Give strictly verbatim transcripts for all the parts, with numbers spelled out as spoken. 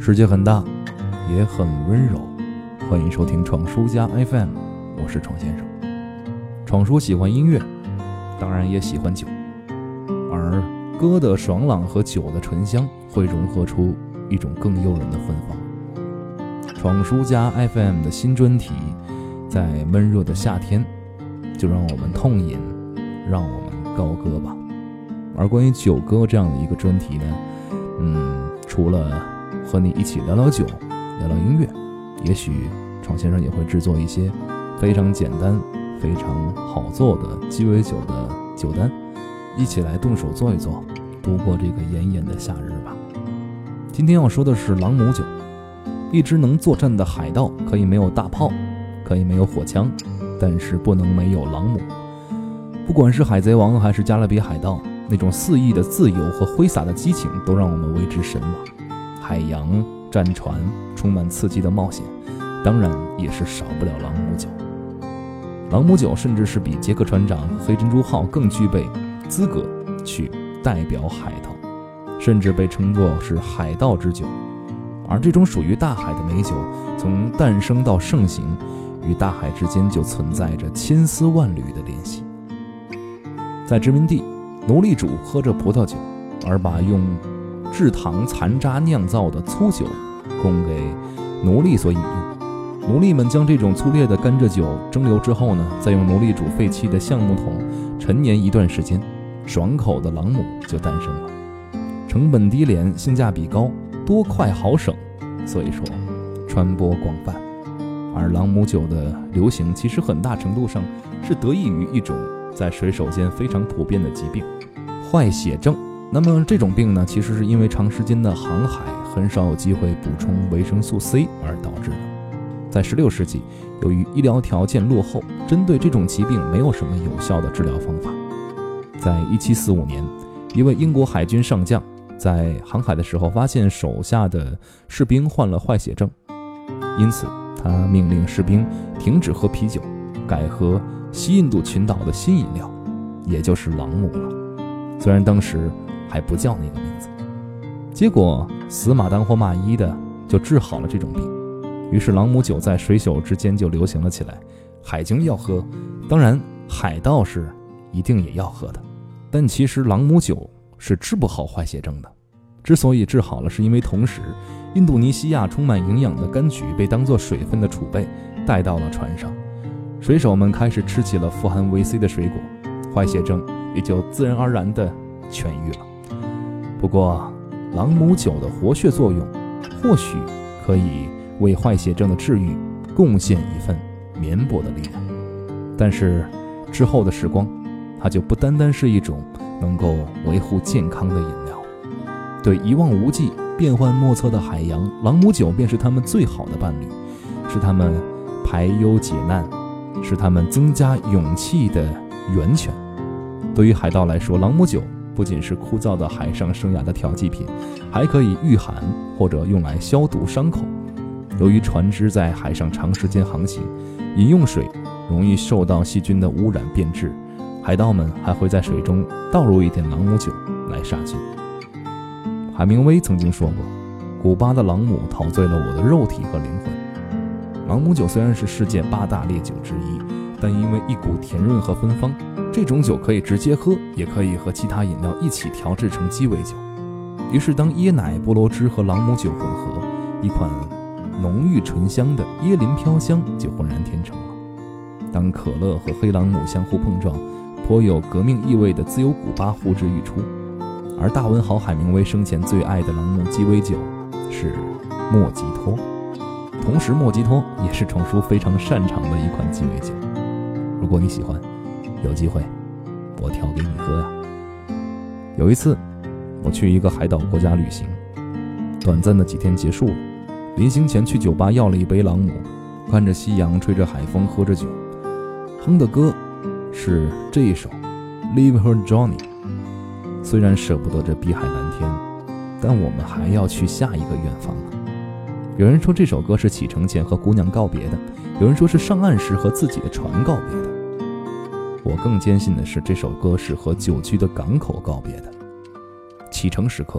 世界很大，也很温柔。欢迎收听闯书家 F M， 我是闯先生。闯叔喜欢音乐，当然也喜欢酒，而歌的爽朗和酒的醇香会融合出一种更诱人的芬芳。闯书家 F M 的新专题，在闷热的夏天，就让我们痛饮，让我们高歌吧。而关于酒歌这样的一个专题呢，嗯，除了和你一起聊聊酒，聊聊音乐，也许闯先生也会制作一些非常简单、非常好做的鸡尾酒的酒单，一起来动手做一做，度过这个炎炎的夏日吧。今天要说的是朗姆酒。一支能作战的海盗可以没有大炮，可以没有火枪，但是不能没有朗姆。不管是海贼王还是加勒比海盗，那种肆意的自由和挥洒的激情都让我们为之神往。海洋、战船，充满刺激的冒险，当然也是少不了朗姆酒。朗姆酒甚至是比杰克船长和黑珍珠号更具备资格去代表海盗，甚至被称作是海盗之酒。而这种属于大海的美酒，从诞生到盛行，与大海之间就存在着千丝万缕的联系。在殖民地，奴隶主喝着葡萄酒，而把用制糖残渣酿造的粗酒供给奴隶所饮用。奴隶们将这种粗劣的甘蔗酒蒸馏之后呢，再用奴隶主废弃的橡木桶陈年一段时间，爽口的朗姆就诞生了。成本低廉，性价比高，多快好省，所以说传播广泛。而朗姆酒的流行其实很大程度上是得益于一种在水手间非常普遍的疾病——坏血症。那么这种病呢，其实是因为长时间的航海，很少有机会补充维生素 C 而导致的。在十六世纪，由于医疗条件落后，针对这种疾病没有什么有效的治疗方法。在一七四五年，一位英国海军上将在航海的时候发现手下的士兵患了坏血症，因此他命令士兵停止喝啤酒，改喝西印度群岛的新饮料，也就是朗姆了。虽然当时还不叫那个名字，结果死马当活马医的就治好了这种病。于是朗姆酒在水手之间就流行了起来。海军要喝，当然海盗是一定也要喝的，但其实朗姆酒是治不好坏血症的。之所以治好了，是因为同时印度尼西亚充满营养的柑橘被当作水分的储备带到了船上，水手们开始吃起了富含维 C 的水果，坏血症也就自然而然地痊愈了。不过朗姆酒的活血作用或许可以为坏血症的治愈贡献一份绵薄的力量，但是之后的时光，它就不单单是一种能够维护健康的饮料。对一望无际、变幻莫测的海洋，朗姆酒便是他们最好的伴侣，是他们排忧解难，是他们增加勇气的源泉。对于海盗来说，朗姆酒不仅是枯燥的海上生涯的调剂品，还可以御寒或者用来消毒伤口。由于船只在海上长时间航行，饮用水容易受到细菌的污染变质，海盗们还会在水中倒入一点朗姆酒来杀菌。海明威曾经说过，古巴的朗姆陶醉了我的肉体和灵魂。朗姆酒虽然是世界八大烈酒之一，但因为一股甜润和芬芳，这种酒可以直接喝，也可以和其他饮料一起调制成鸡尾酒。于是当椰奶、菠萝汁和朗姆酒混合，一款浓郁醇香的椰林飘香就浑然天成了。当可乐和黑朗姆相互碰撞，颇有革命意味的自由古巴呼之欲出。而大文豪海明威生前最爱的朗姆鸡尾酒是莫吉托，同时莫吉托也是闯叔非常擅长的一款鸡尾酒。如果你喜欢，有机会我调给你喝呀。有一次我去一个海岛国家旅行，短暂的几天结束了，临行前去酒吧要了一杯朗姆，看着夕阳，吹着海风，喝着酒，哼的歌是这一首 Leave Her Johnny。 虽然舍不得这碧海蓝天，但我们还要去下一个远方啊。有人说这首歌是启程前和姑娘告别的，有人说是上岸时和自己的船告别的。我更坚信的是，这首歌是和久居的港口告别的。启程时刻，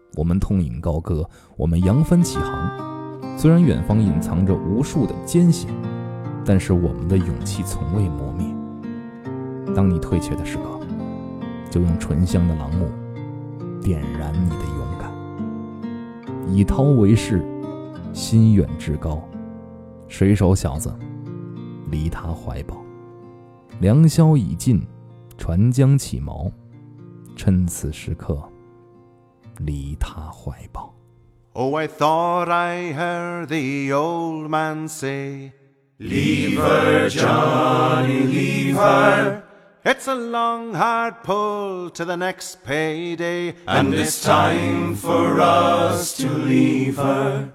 我们痛饮高歌，我们扬帆起航。虽然远方隐藏着无数的艰险，但是我们的勇气从未磨灭。当你退却的时刻，就用醇香的朗姆点燃你的勇敢。以涛为誓，心远志高，水手小子，离他怀抱。良宵已尽，船将起锚，趁此时刻，离他怀抱。 Oh, I thought I heard the old man say, Leave her, Johnny, leave her. It's a long, hard pull to the next payday, and it's time for us to leave her.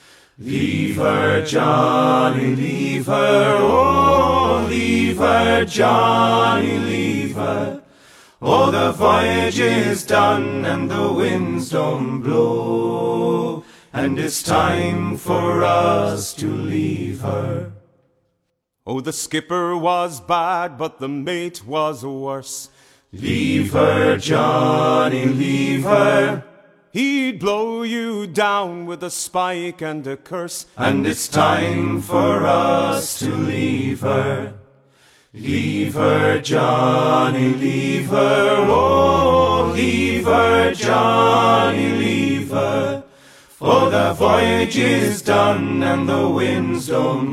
Leave her, Johnny, leave her. Oh, leave her, Johnny, leave her. Oh, the voyage is done and the winds don't blow, and it's time for us to leave her. Oh, the skipper was bad, but the mate was worse. Leave her, Johnny, leave her. He'd blow you down with a spike and a curse, and it's time for us to leave her. Leave her, Johnny, leave her. Oh, leave her, Johnny, leave her. For the voyage is done and the winds don't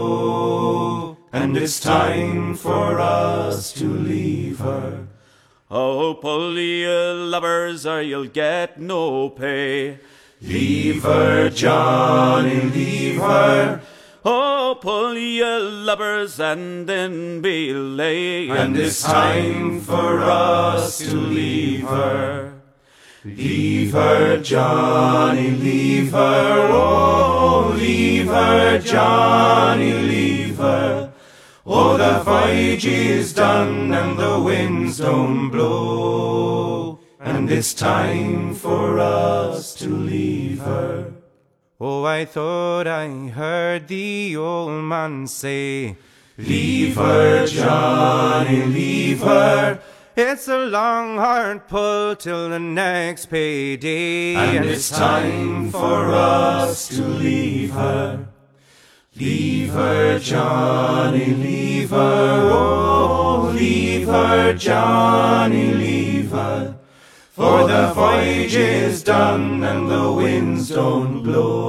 blow, and it's time for us to leave her. Oh, pull your lubbers or you'll get no pay. Leave her, Johnny, leave her. Oh, pull your lubbers and then belay, and it's time for us to leave her. Leave her, Johnny, leave her. Oh, leave her, Johnny, leave her. Oh, the voyage is done and the winds don't blow, and it's time for us to leave her. Oh, I thought I heard the old man say, Leave her, Johnny, leave her. It's a long, hard pull till the next payday, and it's time for us to leave her. Leave her, Johnny, leave her. Oh, leave her, Johnny, leave her. For the voyage is done and the winds don't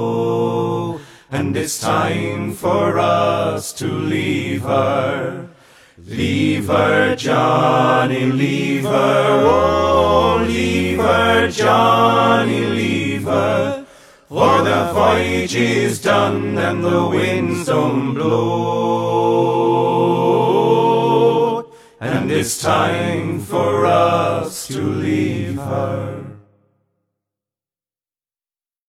blow, and it's time for us to leave her. Leave her, Johnny, leave her. Oh, leave her, Johnny, leave her. For the voyage is done and the winds don't blow, and it's time for us to leave her.